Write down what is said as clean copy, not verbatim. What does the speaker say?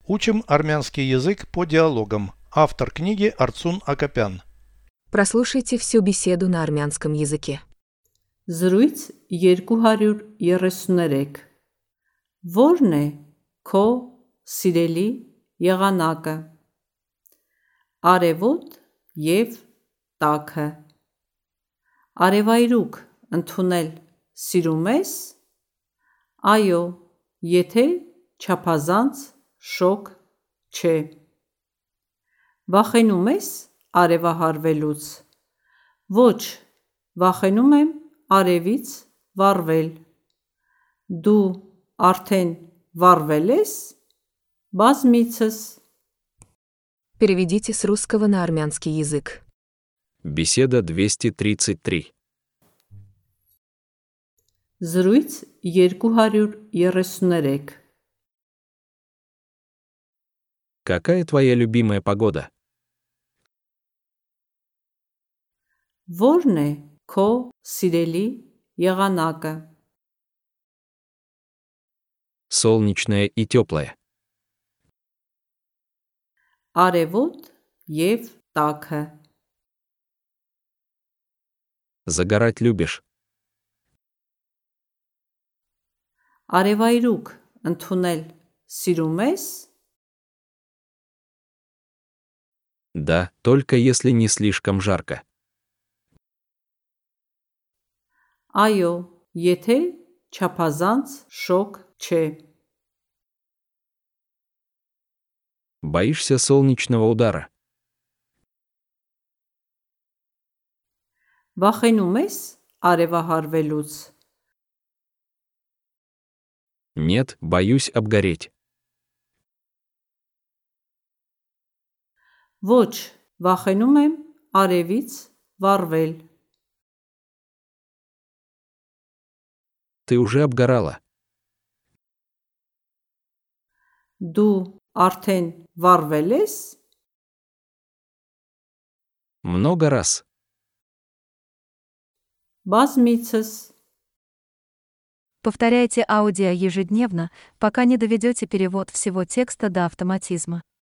Учим армянский язык по диалогам. Автор книги Арцун Акопян. Прослушайте всю беседу на армянском языке. Զրույց 233 Որն է քո սիրելի եղանակը? Արևոտ և տաքը Արևայրուք ընդունել սիրում ես? Այո, եթե չափազանց շոգ չէ։ Վախենում ես արևահարվելուց? Ոչ, վախենում եմ արևից վառվել։ Դու արդեն վառվել ես? Բազմիցս Переведите с русского на армянский язык. Беседа 233. Զրույց 233 Какая твоя любимая погода? Որն է քո սիրելի եղանակը? Солнечная и теплая. Արևոտ և տաքը Загорать любишь? Արևայրուք ընդունել սիրում ես? Да, только если не слишком жарко. Այո, եթե չափազանց շոգ չէ։ Боишься солнечного удара? Վախենում ես արևահարվելուց? Нет, боюсь обгореть. Ոչ, վախենում եմ արևից վառվել։ Ты уже обгорала. Դու արդեն վառվել ես? Много раз. Բազմիցս Повторяйте аудио ежедневно, пока не доведете перевод всего текста до автоматизма.